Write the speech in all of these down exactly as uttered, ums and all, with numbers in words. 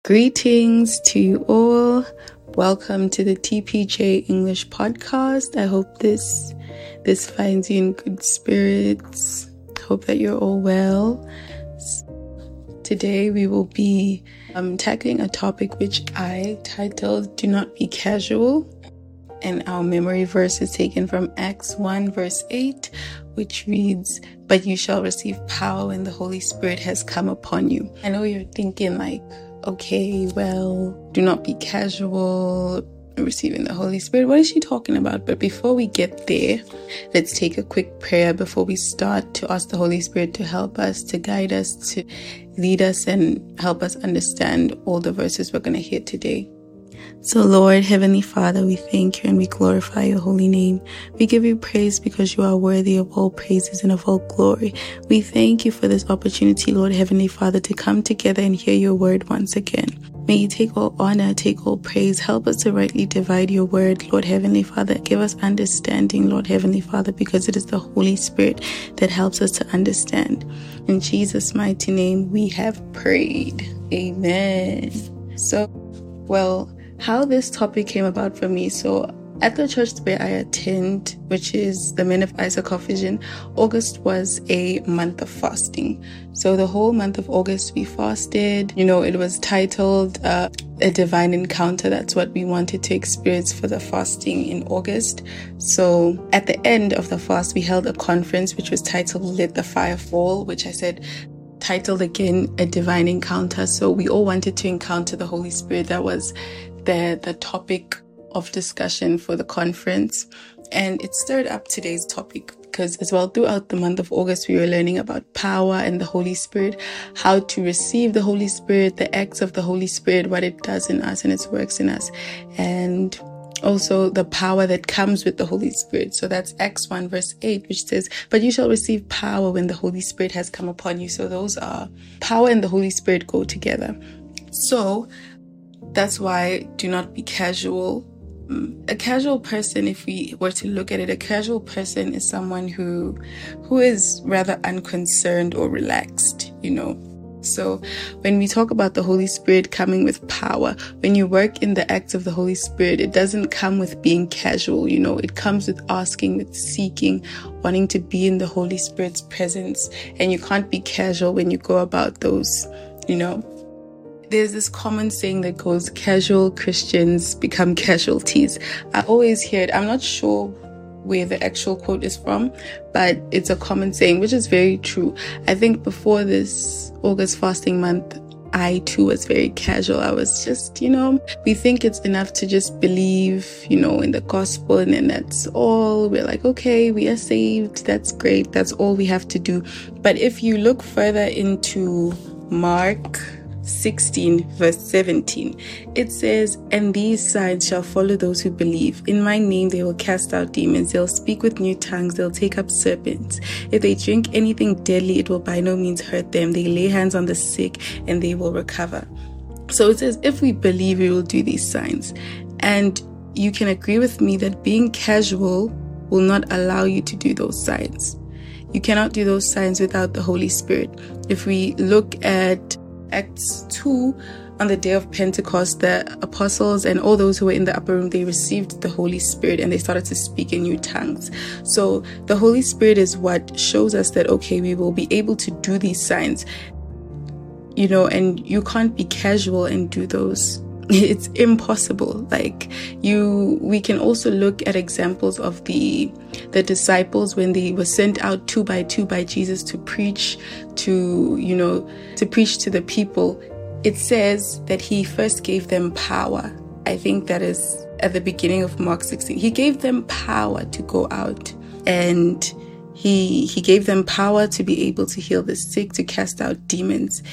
Greetings to you all. Welcome to the T P J English podcast. I hope this this finds you in good spirits. Hope that you're all well. Today we will be um, tackling a topic which I titled "Do Not Be Casual," and our memory verse is taken from Acts one verse eight, which reads, "But you shall receive power when the Holy Spirit has come upon you." I know you're thinking like, okay, well, do not be casual, receiving the Holy Spirit. What is she talking about? But before we get there, let's take a quick prayer before we start to ask the Holy Spirit to help us, to guide us, to lead us, and help us understand all the verses we're going to hear today. So Lord, Heavenly Father, we thank you and we glorify your holy name. We give you praise because you are worthy of all praises and of all glory. We thank you for this opportunity, Lord, Heavenly Father, to come together and hear your word once again. May you take all honor, take all praise. Help us to rightly divide your word, Lord, Heavenly Father. Give us understanding, Lord, Heavenly Father, because it is the Holy Spirit that helps us to understand. In Jesus' mighty name, we have prayed. Amen. So, well, how this topic came about for me. So at the church where I attend, which is the Men of Issachar Vision, August was a month of fasting. So the whole month of August we fasted. You know, it was titled uh, A Divine Encounter. That's what we wanted to experience for the fasting in August. So at the end of the fast, we held a conference which was titled Let the Fire Fall, which I said titled again A Divine Encounter. So we all wanted to encounter the Holy Spirit. That was the the topic of discussion for the conference, and it stirred up today's topic because as well throughout the month of August we were learning about power and the Holy Spirit, how to receive the Holy Spirit, the acts of the Holy Spirit, what it does in us and its works in us, and also the power that comes with the Holy Spirit. So that's Acts one verse eight, which says, "But you shall receive power when the Holy Spirit has come upon you." So those are power and the Holy Spirit go together. So that's why do not be casual. A casual person, if we were to look at it, a casual person is someone who who is rather unconcerned or relaxed, you know. So when we talk about the Holy Spirit coming with power, when you work in the acts of the Holy Spirit, it doesn't come with being casual, you know. It comes with asking, with seeking, wanting to be in the Holy Spirit's presence. And you can't be casual when you go about those, you know. There's this common saying that goes, casual Christians become casualties. I always hear it. I'm not sure where the actual quote is from, but it's a common saying, which is very true. I think before this August fasting month, I too was very casual. I was just, you know, we think it's enough to just believe, you know, in the gospel, and then that's all. We're like, okay, we are saved. That's great. That's all we have to do. But if you look further into Mark sixteen verse seventeen, it says, "And these signs shall follow those who believe. In my name they will cast out demons, they'll speak with new tongues, they'll take up serpents. If they drink anything deadly, it will by no means hurt them. They lay hands on the sick and they will recover." So it says if we believe, we will do these signs. And you can agree with me that being casual will not allow you to do those signs. You cannot do those signs without the Holy Spirit. If we look at Acts two, on the day of Pentecost, the apostles and all those who were in the upper room, they received the Holy Spirit and they started to speak in new tongues. So the Holy Spirit is what shows us that, okay, we will be able to do these signs, you know, and you can't be casual and do those. It's impossible. Like you, we can also look at examples of the the disciples when they were sent out two by two by Jesus to preach to, you know, to preach to the people. It says that he first gave them power. I think that is at the beginning of Mark sixteen. He gave them power to go out, and he he gave them power to be able to heal the sick, to cast out demons.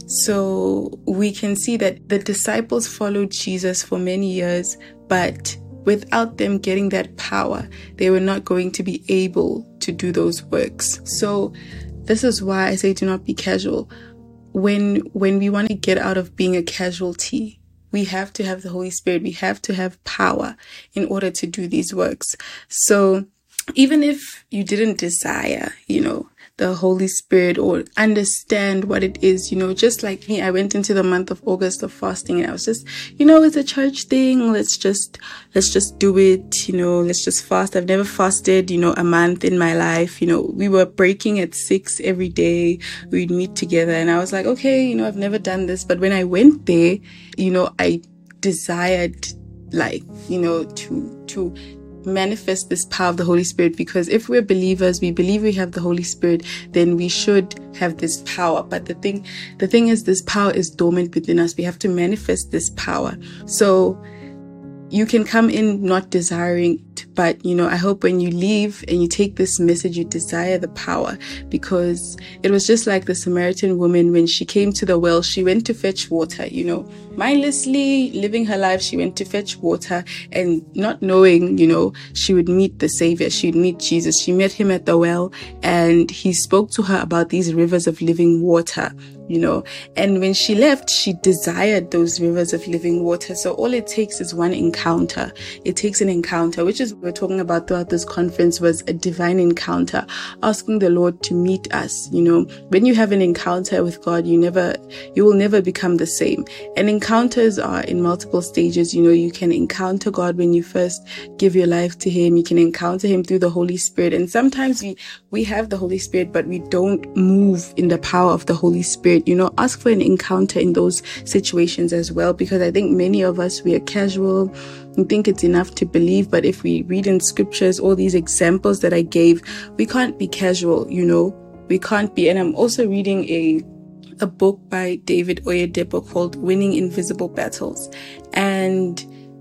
So we can see that the disciples followed Jesus for many years, but without them getting that power, they were not going to be able to do those works. So this is why I say do not be casual. When when we want to get out of being a casualty, we have to have the Holy Spirit. We have to have power in order to do these works. So even if you didn't desire, you know, the Holy Spirit or understand what it is. You know, just like me, I went into the month of August of fasting, and I was just, you know, it's a church thing. Let's just, let's just do it. You know, let's just fast. I've never fasted, you know, a month in my life. You know, we were breaking at six every day. We'd meet together, and I was like, okay, you know, I've never done this. But when I went there, you know, I desired, like, you know, to, to, manifest this power of the Holy Spirit, because if we're believers, we believe we have the Holy Spirit, then we should have this power. But the thing, the thing is, this power is dormant within us. We have to manifest this power. So you can come in not desiring it, but, you know, I hope when you leave and you take this message, you desire the power, because it was just like the Samaritan woman when she came to the well. She went to fetch water, you know, mindlessly living her life. She went to fetch water, and not knowing, you know, she would meet the Savior. She'd meet Jesus. She met him at the well, and he spoke to her about these rivers of living water, you know, and when she left, she desired those rivers of living water. So all it takes is one encounter. It takes an encounter, which is what we're talking about throughout this conference, was a divine encounter, asking the Lord to meet us. You know, when you have an encounter with God, you never, you will never become the same. And encounters are in multiple stages. You know, you can encounter God when you first give your life to him. You can encounter him through the Holy Spirit. And sometimes we, we have the Holy Spirit, but we don't move in the power of the Holy Spirit. You know, ask for an encounter in those situations as well, because I think many of us, we are casual. We think it's enough to believe, but if we read in scriptures, all these examples that I gave, we can't be casual, you know, we can't be. And I'm also reading a a book by David Oyedepo called Winning Invisible Battles. And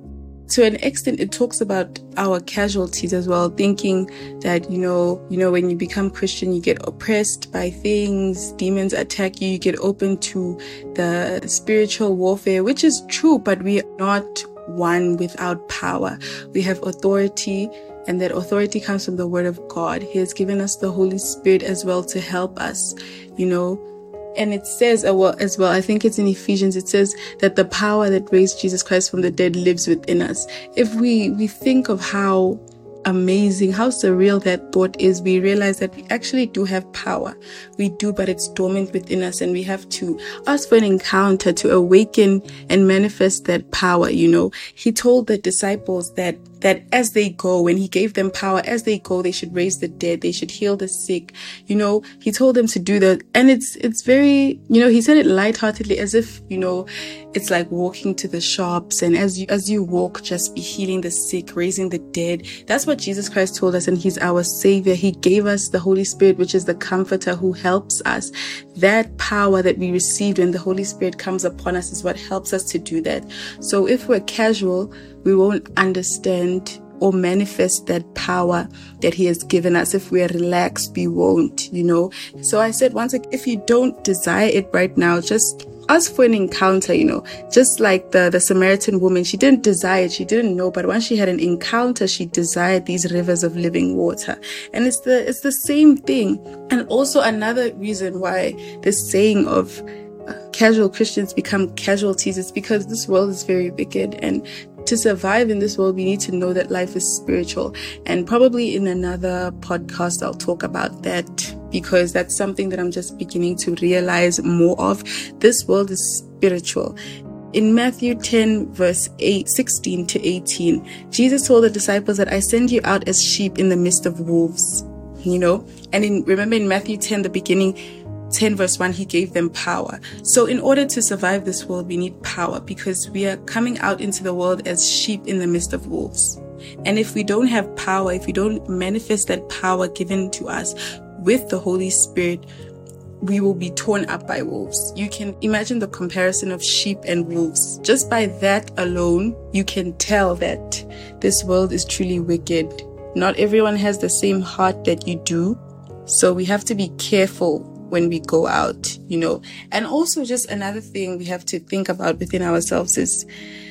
to an extent, it talks about our casualties as well, thinking that, you know, you know, when you become Christian, you get oppressed by things, demons attack you, you get open to the, the spiritual warfare, which is true, but we are not one without power. We have authority, and that authority comes from the Word of God. He has given us the Holy Spirit as well to help us, you know. And it says, uh, well, as well, I think it's in Ephesians, it says that the power that raised Jesus Christ from the dead lives within us. If we, we think of how amazing, how surreal that thought is, we realize that we actually do have power. We do, but it's dormant within us, and we have to ask for an encounter to awaken and manifest that power. You know, he told the disciples that that as they go, when he gave them power, as they go, they should raise the dead, they should heal the sick. You know, he told them to do that. And it's, it's very, you know, he said it lightheartedly, as if, you know, it's like walking to the shops, and as you, as you walk, just be healing the sick, raising the dead. That's what Jesus Christ told us, and he's our Savior. He gave us the Holy Spirit, which is the Comforter who helps us. That power that we received when the Holy Spirit comes upon us is what helps us to do that. So if we're casual, we won't understand or manifest that power that he has given us. If we're relaxed, we won't, you know. So I said once, like, if you don't desire it right now, just ask for an encounter, you know. Just like the, the Samaritan woman, she didn't desire it, she didn't know, but once she had an encounter, she desired these rivers of living water. And it's the, it's the same thing. And also another reason why this saying of uh, casual Christians become casualties is because this world is very wicked, and to survive in this world, we need to know that life is spiritual. And probably in another podcast, I'll talk about that, because that's something that I'm just beginning to realize more of. This world is spiritual. In Matthew ten, verse eight, sixteen to eighteen, Jesus told the disciples that I send you out as sheep in the midst of wolves, you know. And in, remember in Matthew ten, the beginning, ten verse one, he gave them power. So in order to survive this world, we need power, because we are coming out into the world as sheep in the midst of wolves. And if we don't have power, if we don't manifest that power given to us with the Holy Spirit, we will be torn up by wolves. You can imagine the comparison of sheep and wolves. Just by that alone, you can tell that this world is truly wicked. Not everyone has the same heart that you do. So we have to be careful when we go out, you know. And also just another thing we have to think about within ourselves is,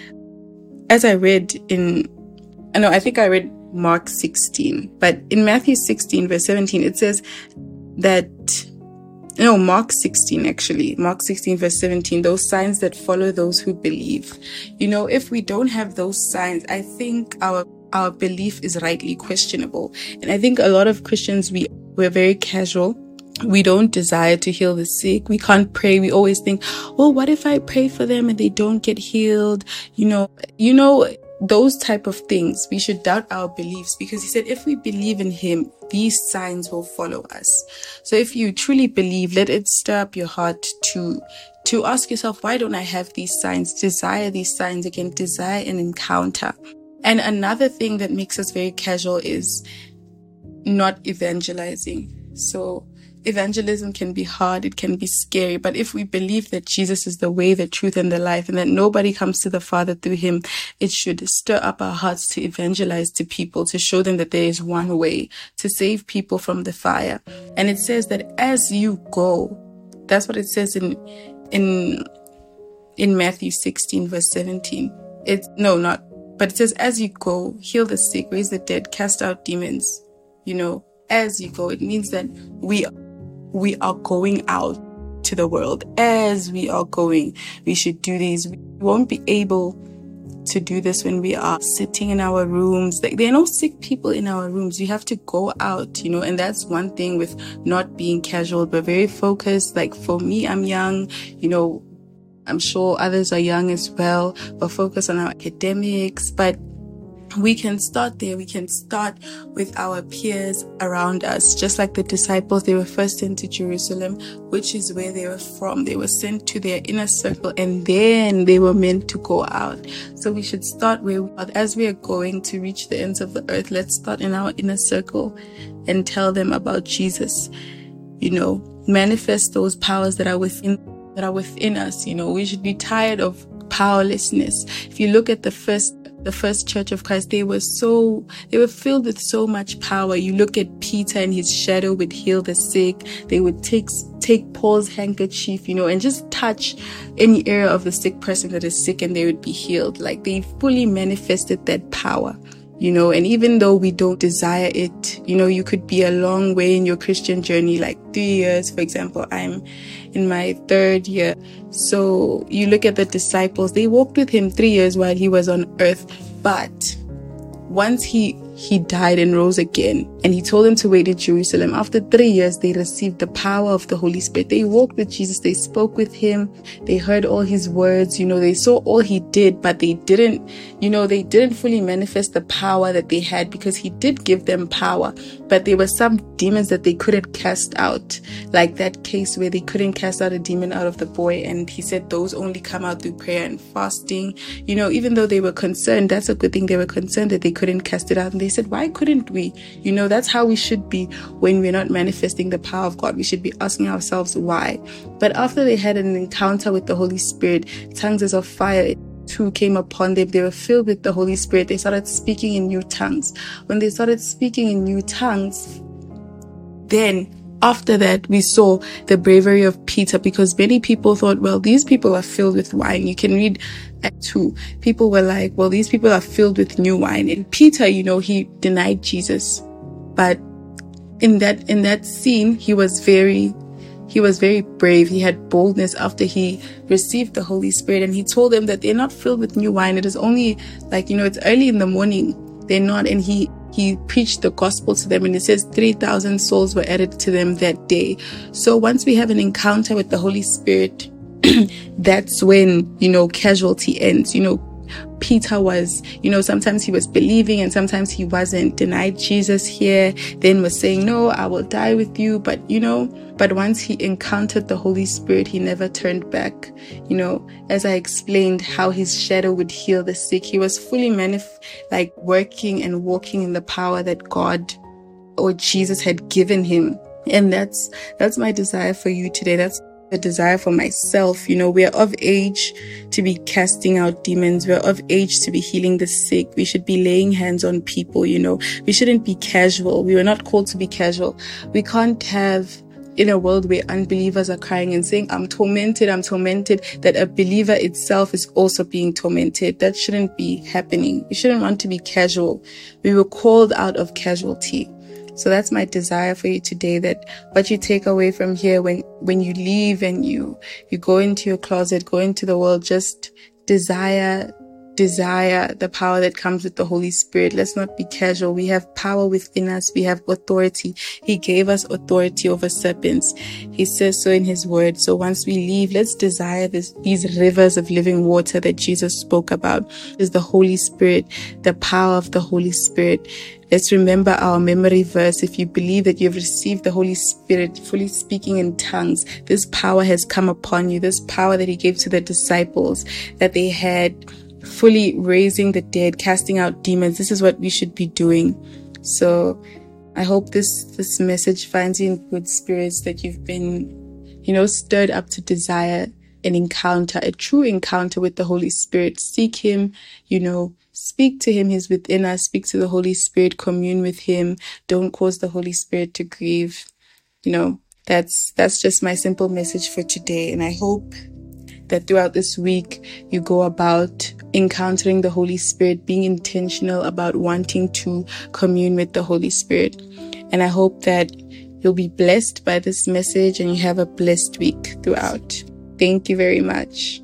as I read in, I know, I think I read Mark sixteen, but in Matthew sixteen verse seventeen, it says that, no, Mark sixteen actually, Mark sixteen verse seventeen, those signs that follow those who believe. You know, if we don't have those signs, I think our our belief is rightly questionable. And I think a lot of Christians, we, we're very casual. we don't desire to heal the sick. We can't pray. We always think, well, what if I pray for them and they don't get healed? You know, you know, those type of things. We should doubt our beliefs, because he said, if we believe in him, these signs will follow us. So if you truly believe, let it stir up your heart to, to ask yourself, why don't I have these signs? Desire these signs again, desire an encounter. And another thing that makes us very casual is not evangelizing. So evangelism can be hard, it can be scary, but if we believe that Jesus is the way, the truth, and the life, and that nobody comes to the Father through him, it should stir up our hearts to evangelize to people, to show them that there is one way to save people from the fire. And it says that as you go, that's what it says in in in Matthew sixteen verse seventeen. It's no, not, but it says, as you go, heal the sick, raise the dead, cast out demons. You know, as you go, it means that we we are going out to the world. As we are going, we should do these. We won't be able to do this when we are sitting in our rooms. Like, there are no sick people in our rooms. We have to go out, you know, and that's one thing with not being casual, but very focused. Like for me, I'm young, you know, I'm sure others are young as well, but focus on our academics. But we can start there. We can start with our peers around us. Just like the disciples, they were first sent to Jerusalem, which is where they were from. They were sent to their inner circle, and then they were meant to go out. So we should start where we are. As we are going to reach the ends of the earth, let's start in our inner circle and tell them about Jesus. You know, manifest those powers that are within that are within us. You know, we should be tired of powerlessness. If you look at the first the first church of Christ, they were so, they were filled with so much power. You look at Peter, and his shadow would heal the sick. They would take, take Paul's handkerchief, you know, and just touch any area of the sick person that is sick, and they would be healed. Like, they fully manifested that power, you know. And even though we don't desire it, you know, you could be a long way in your Christian journey, like three years, for example. I'm in my third year. So you look at the disciples, they walked with him three years while he was on earth. But once he he died and rose again, and he told them to wait in Jerusalem, after three years, they received the power of the Holy Spirit. They walked with Jesus. They spoke with him. They heard all his words. You know, they saw all he did, but they didn't, you know, they didn't fully manifest the power that they had, because he did give them power. But there were some demons that they couldn't cast out, like that case where they couldn't cast out a demon out of the boy. And he said those only come out through prayer and fasting. You know, even though they were concerned, that's a good thing. They were concerned that they couldn't cast it out. And they said, why couldn't we? You know, that's how we should be when we're not manifesting the power of God. We should be asking ourselves why. But after they had an encounter with the Holy Spirit, tongues as of fire too came upon them. They were filled with the Holy Spirit. They started speaking in new tongues. When they started speaking in new tongues, then after that, we saw the bravery of Peter, because many people thought, well, these people are filled with wine. You can read Act two. People were like, well, these people are filled with new wine. And Peter, you know, he denied Jesus. But in that, in that scene, he was very, he was very brave. He had boldness after he received the Holy Spirit. And he told them that they're not filled with new wine. It is only like, you know, it's early in the morning. They're not. And he, he preached the gospel to them, and it says three thousand souls were added to them that day. So once we have an encounter with the Holy Spirit, that's when, you know, casualty ends. You know, Peter was, you know, sometimes he was believing and sometimes he wasn't. Denied Jesus here, then was saying, no, I will die with you. But, you know, but once he encountered the Holy Spirit, he never turned back. You know, as I explained how his shadow would heal the sick, he was fully manif- like working and walking in the power that God or Jesus had given him. And that's, that's my desire for you today. That's the desire for myself. You know, we are of age to be casting out demons. We're of age to be healing the sick. We should be laying hands on people. You know, we shouldn't be casual. We were not called to be casual. We can't have, in a world where unbelievers are crying and saying, I'm tormented, I'm tormented, that a believer itself is also being tormented. That shouldn't be happening. We shouldn't want to be casual. We were called out of casualty. So that's my desire for you today, that what you take away from here when, when you leave and you, you go into your closet, go into the world, just desire desire the power that comes with the Holy Spirit. Let's not be casual. We have power within us. We have authority. He gave us authority over serpents. He says so in his word. So once we leave, let's desire this, these rivers of living water that Jesus spoke about. Is the Holy Spirit, the power of the Holy Spirit. Let's remember our memory verse. If you believe that you've received the Holy Spirit, fully speaking in tongues, this power has come upon you. This power that he gave to the disciples, that they had, fully raising the dead, casting out demons. This is what we should be doing. So I hope this this message finds you in good spirits, that you've been, you know, stirred up to desire an encounter, a true encounter with the Holy Spirit. Seek him, you know, speak to him. He's within us. Speak to the Holy Spirit, commune with him. Don't cause the Holy Spirit to grieve. You know, that's that's just my simple message for today. And I hope that throughout this week, you go about encountering the Holy Spirit, being intentional about wanting to commune with the Holy Spirit. And I hope that you'll be blessed by this message and you have a blessed week throughout. Thank you very much.